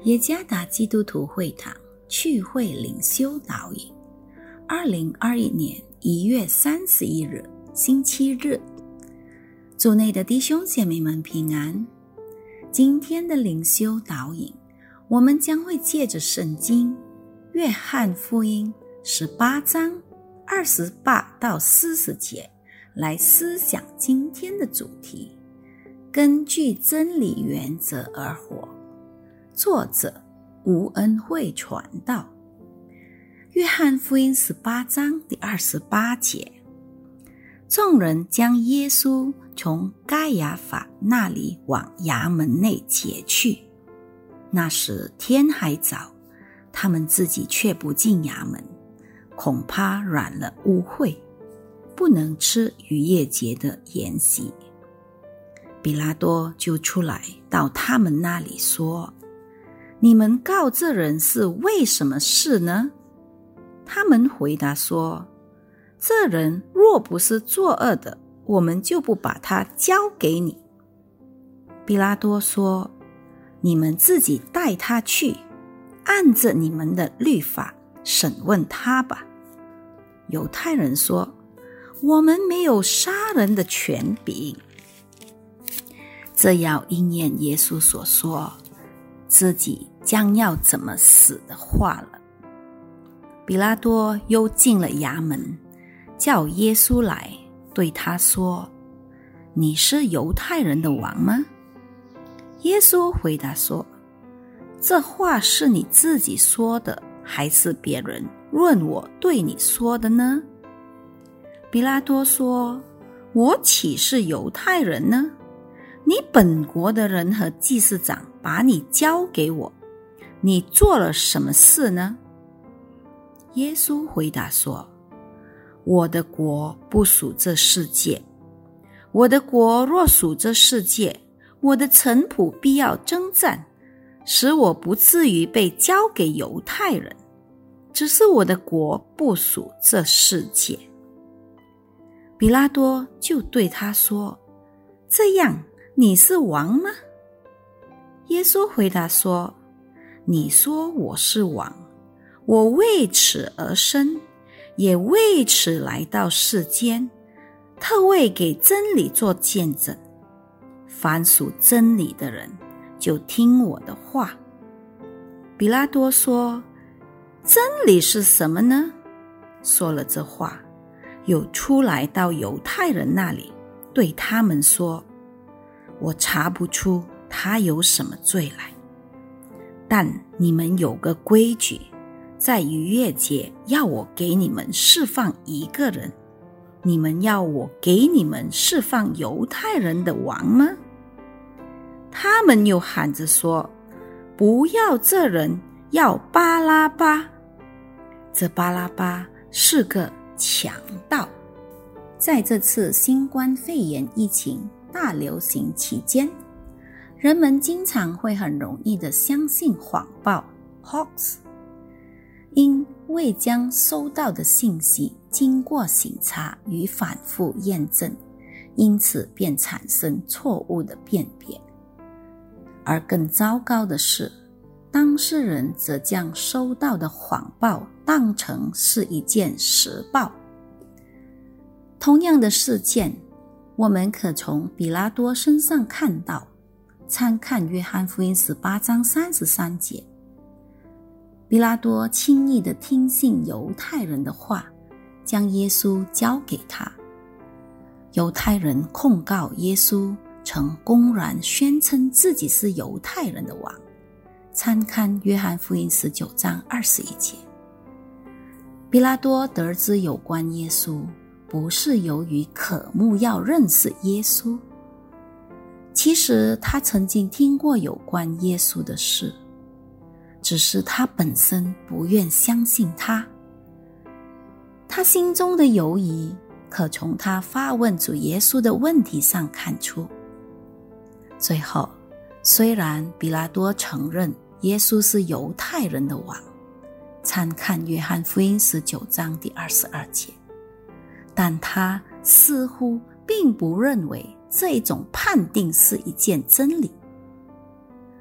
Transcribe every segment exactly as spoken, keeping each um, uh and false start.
耶加达基督徒会堂聚会领袖导引，二零二一年一月三十一日星期日，主内的弟兄姐妹们平安。今天的领袖导引，我们将会借着圣经约翰福音十八章二十八到四十节来思想今天的主题，根据真理原则而活。作者吴恩惠传道。约翰福音十八章第二十八节，众人将耶稣从该亚法那里往衙门内解去。那时天还早，他们自己却不进衙门，恐怕染了污秽，不能吃逾越节的筵席。比拉多就出来到他们那里说，你们告这人是为什么事呢？他们回答说，这人若不是作恶的，我们就不把他交给你。比拉多说，你们自己带他去，按着你们的律法审问他吧。犹太人说，我们没有杀人的权柄。这要应验耶稣所说自己将要怎么死的话了。比拉多又进了衙门，叫耶稣来，对他说，你是犹太人的王吗？耶稣回答说，这话是你自己说的，还是别人论我对你说的呢？比拉多说，我岂是犹太人呢？你本国的人和祭司长把你交给我，你做了什么事呢？耶稣回答说，我的国不属这世界。我的国若属这世界，我的臣仆必要征战，使我不至于被交给犹太人。只是我的国不属这世界。比拉多就对他说，这样你是王吗？耶稣回答说，你说我是王，我为此而生，也为此来到世间，特为给真理做见证。凡属真理的人，就听我的话。比拉多说，真理是什么呢？说了这话，又出来到犹太人那里，对他们说，我查不出他有什么罪来，但你们有个规矩，在逾越节要我给你们释放一个人，你们要我给你们释放犹太人的王吗？他们又喊着说，不要这人，要巴拉巴。这巴拉巴是个强盗。在这次新冠肺炎疫情大流行期间，人们经常会很容易地相信谎报 hoax， 因未将收到的信息经过省察与反复验证，因此便产生错误的辨别。而更糟糕的是，当事人则将收到的谎报当成是一件实报。同样的事件，我们可从比拉多身上看到，参看约翰福音十八章三十三节。比拉多轻易地听信犹太人的话，将耶稣交给他。犹太人控告耶稣曾公然宣称自己是犹太人的王，参看约翰福音十九章二十一节。比拉多得知有关耶稣，不是由于渴慕要认识耶稣，其实他曾经听过有关耶稣的事，只是他本身不愿相信他。他心中的犹疑可从他发问主耶稣的问题上看出。最后，虽然比拉多承认耶稣是犹太人的王，参看约翰福音十九章第二十二节，但他似乎并不认为这种判定是一件真理。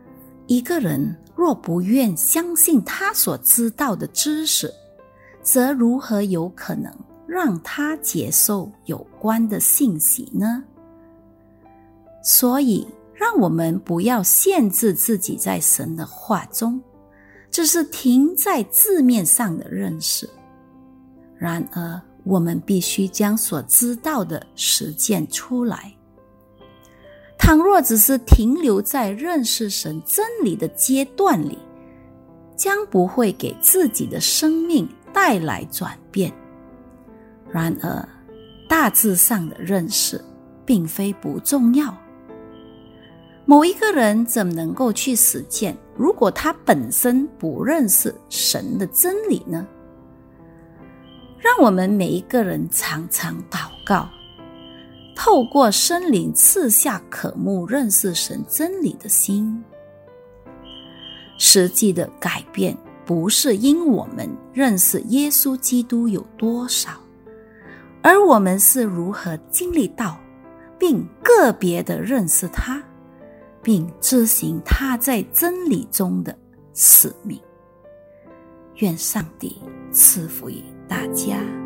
一个人若不愿相信他所知道的知识，则如何有可能让他接受有关的信息呢？所以，让我们不要限制自己在神的话中，只是停在字面上的认识。然而，我们必须将所知道的实践出来。倘若只是停留在认识神真理的阶段里，将不会给自己的生命带来转变。然而，大致上的认识并非不重要。某一个人怎么能够去实践，如果他本身不认识神的真理呢？让我们每一个人常常祷告，透过圣灵赐下渴慕认识神真理的心。实际的改变不是因我们认识耶稣基督有多少，而我们是如何经历到并个别的认识他，并执行他在真理中的使命。愿上帝赐福于大家。